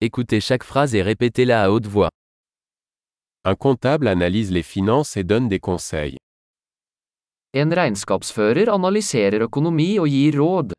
Écoutez chaque phrase et répétez-la à haute voix. Un comptable analyse les finances et donne des conseils. En regnskapsfører analyserer økonomi og gir råd.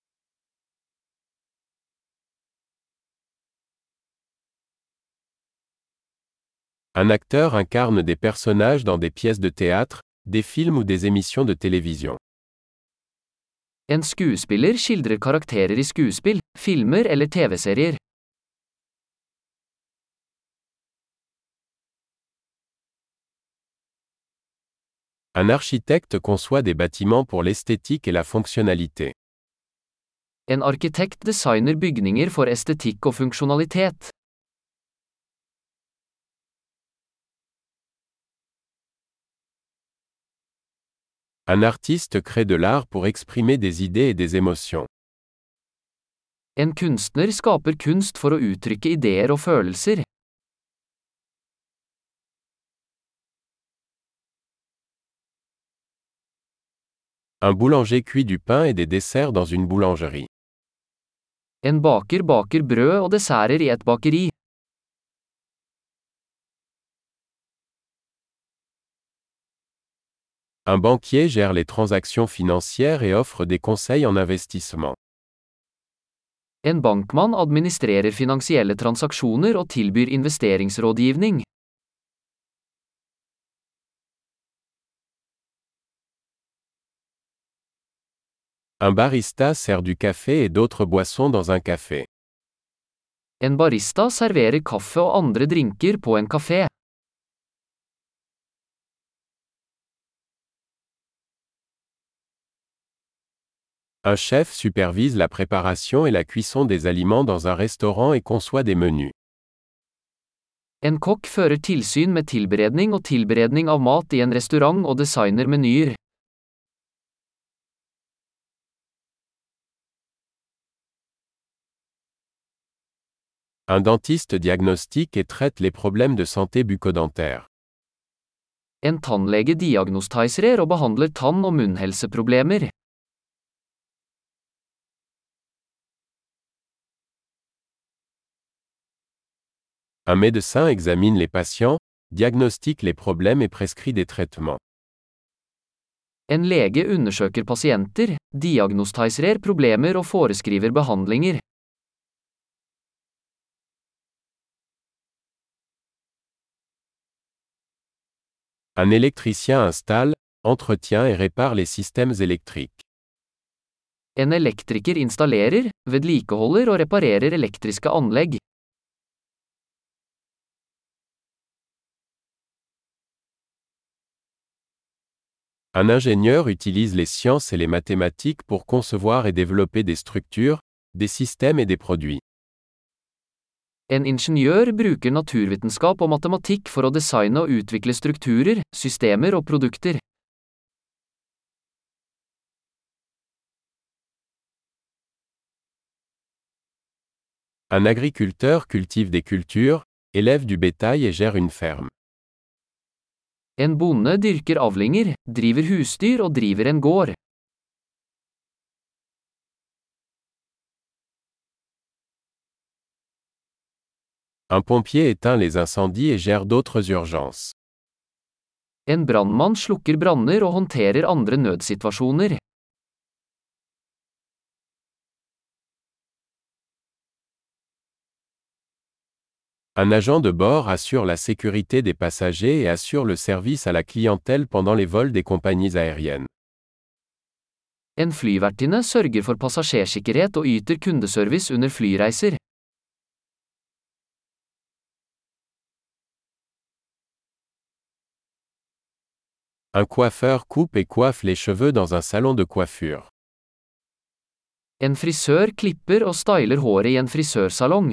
Un acteur incarne des personnages dans des pièces de théâtre, des films ou des émissions de télévision. En skuespiller skildrer karakterer i skuespill, filmer eller TV-serier. Un architecte conçoit des bâtiments pour l'esthétique et la fonctionnalité. En arkitekt designer bygninger for estetikk og funksjonalitet. Un artiste crée de l'art pour exprimer des idées et des émotions. En kunstner skaper kunst for å uttrykke ideer og følelser. Un boulanger cuit du pain et des desserts dans une boulangerie. En baker baker brød og desserter i et bakeri. Un banquier gère les transactions financières et offre des conseils en investissement. En bankmann administrerer finansielle transaksjoner og tilbyr investeringsrådgivning. Un barista sert du café et d'autres boissons dans un café. En barista serverer kaffe og andre drinker på en kafé. Un chef supervise la préparation et la cuisson des aliments dans un restaurant et conçoit des menus. En kokk fører tilsyn med tilberedning og tilberedning av mat i en restaurant og designer menyer. Un dentiste diagnostique et traite les problèmes de santé bucco-dentaire. En tannlege diagnostiserer og behandler tann- og munnhelseproblemer. Un médecin examine les patients, diagnostique les problèmes et prescrit des traitements. En lege undersøker pasienter, diagnostiserer problemer og foreskriver behandlinger. Un électricien installe, entretient et répare les systèmes électriques. En elektriker installerer, vedlikeholder og reparerer elektriske anlegg. Un ingénieur utilise les sciences et les mathématiques pour concevoir et développer des structures, des systèmes et des produits. En ingeniør bruker naturvitenskap og matematikk for å designe og utvikle strukturer, systemer og produkter. Un agriculteur cultive des cultures, élève du bétail et gère une ferme. En bonde dyrker avlinger, driver husdyr og driver en gård. Un pompier éteint les incendies et gère d'autres urgences. En brannmann slukker branner og håndterer andre nødsituasjoner. Un agent de bord assure la sécurité des passagers et assure le service à la clientèle pendant les vols des compagnies aériennes. En flyvertinne sørger for passasjersikkerhet og yter kundeservice under flyreiser. Un coiffeur coupe et coiffe les cheveux dans un salon de coiffure. En frisør klipper og styler håret i en frisørsalong.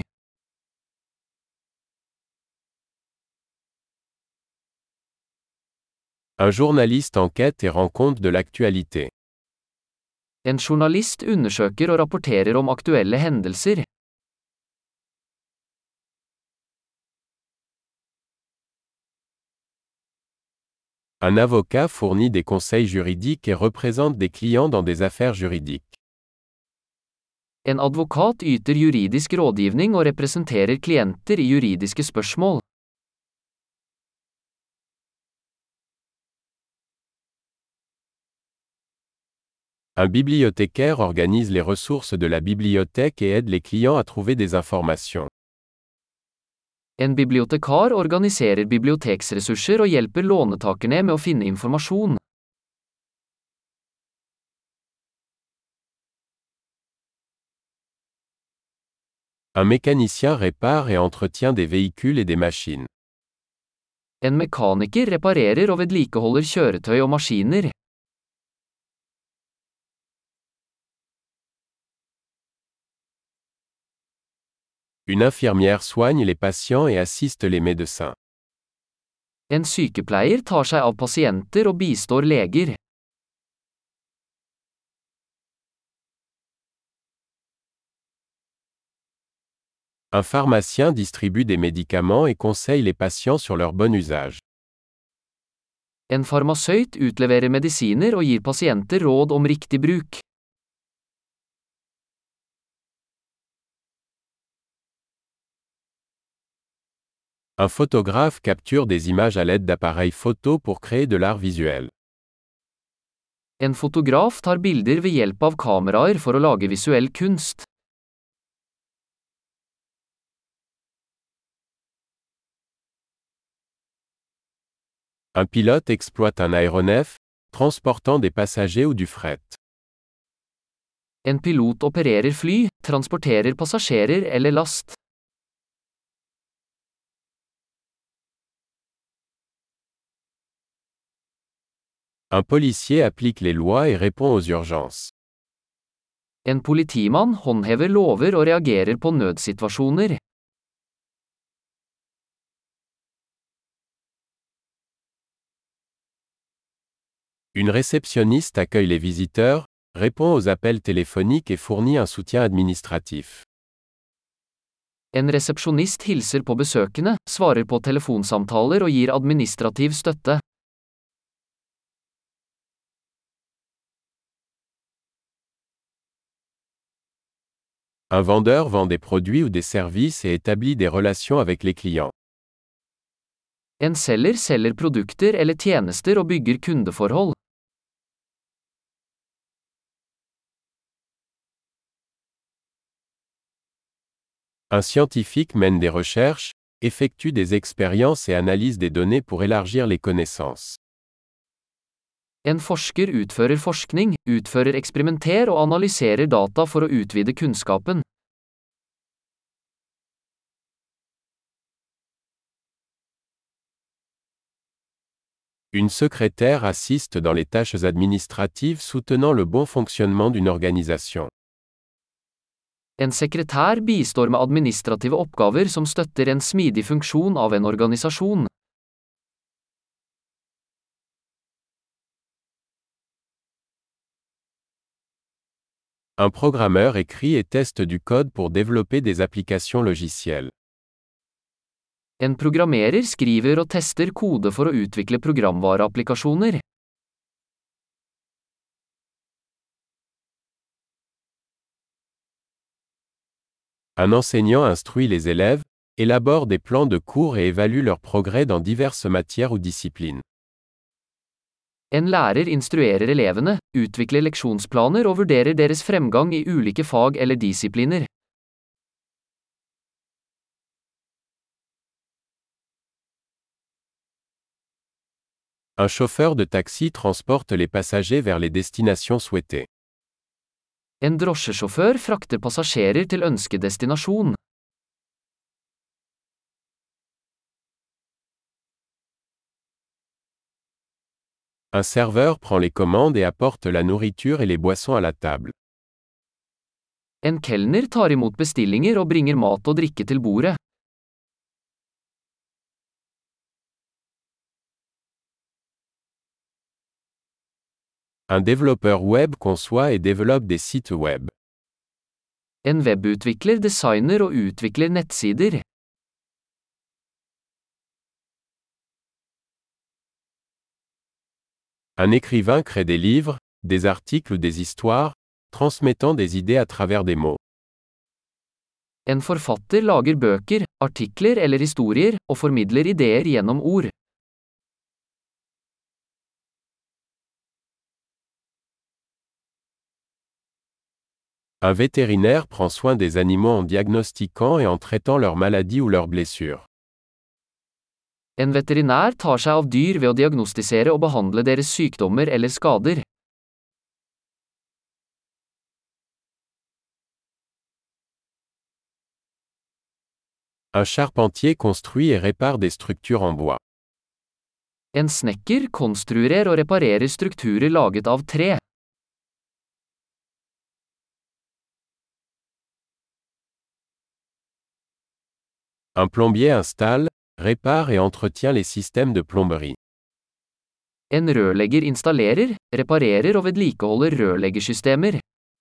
Un journaliste enquête et rend compte de l'actualité. En journalist undersøker og rapporterer om aktuelle hendelser. Un avocat fournit des conseils juridiques et représente des clients dans des affaires juridiques. En advokat yter juridisk rådgivning og representerer klienter i juridiske spørsmål. Un bibliothécaire organise les ressources de la bibliothèque et aide les clients à trouver des informations. En bibliotekar organiserer biblioteksressurser og hjelper lånetakerne med å finne informasjon. Un mécanicien répare et entretient des véhicules et des machines. En mekaniker reparerer og vedlikeholder kjøretøy og maskiner. Une infirmière soigne les patients et assiste les médecins. En sykepleier tar seg av pasienter og bistår leger. Un pharmacien distribue des médicaments et conseille les patients sur leur bon usage. En farmasøyt utleverer medisiner og gir pasienter råd om riktig bruk. Un photographe capture des images à l'aide d'appareils photo pour créer de l'art visuel. En fotograf tar bilder ved hjelp av kameraer for å lage visuell kunst. Un pilote exploite un aéronef, transportant des passagers ou du fret. En pilot opererer fly, transporterer passasjerer eller last. Un policier applique les lois et répond aux urgences. En politimann håndhever lover og reagerer på nødsituasjoner. Une réceptionniste accueille les visiteurs, répond aux appels téléphoniques et fournit un soutien administratif. En resepsjonist hilser på besøkende, svarer på telefonsamtaler og gir administrativ støtte. Un vendeur vend des produits ou des services et établit des relations avec les clients. En selger selger produkter eller tjenester og bygger kundeforhold. Un scientifique mène des recherches, effectue des expériences et analyse des données pour élargir les connaissances. En forsker utfører forskning, utfører eksperimenter og analyserer data for å utvide kunnskapen. Une secrétaire assiste dans les tâches administratives soutenant le bon fonctionnement d'une organisation. En sekretær bistår med administrative oppgaver som støtter en smidig funksjon av en organisasjon. Un programmeur écrit et teste du code pour développer des applications logicielles. En programmerer skriver og tester kode for å utvikle programvareapplikasjoner. Un enseignant instruit les élèves, élabore des plans de cours et évalue leur progrès dans diverses matières ou disciplines. En lærer instruerer elevene, utvikler leksjonsplaner og vurderer deres fremgang i ulike fag eller disipliner. Un chauffeur de taxi transporte les passagers vers les destinations souhaitées. En drosjesjåfør frakter passasjerer til ønskedestinasjon. Un serveur prend les commandes et apporte la nourriture et les boissons à la table. En kelner tar imot bestillinger og bringer mat og drikke til bordet. Un développeur web conçoit et développe des sites web. En webutvikler designer og utvikler nettsider. Un écrivain crée des livres, des articles ou des histoires, transmettant des idées à travers des mots. En forfatter lager bøker, artikler eller historier, og formidler ideer gjennom ord. Un vétérinaire prend soin des animaux en diagnostiquant et en traitant leurs maladies ou leurs blessures. En veterinær tar seg av dyr ved å diagnostisere og behandle deres sykdommer eller skader. Un charpentier construit et répare des structures en bois. En snekker konstruerer og reparerer strukturer laget av tre. Un plombier installe, répare et entretient les systèmes de plomberie. En rørlegger installerer, reparerer og vedlikeholder rørleggersystemer.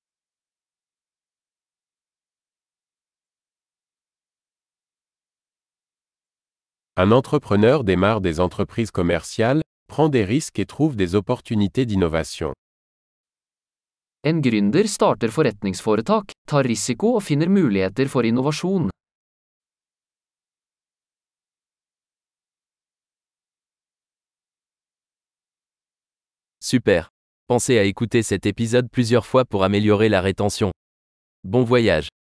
Un entrepreneur démarre des entreprises commerciales, prend des risques et trouve des opportunités d'innovation. En gründer starter forretningsforetak, tar risiko og finner muligheter for innovasjon. Super. Pensez à écouter cet épisode plusieurs fois pour améliorer la rétention. Bon voyage.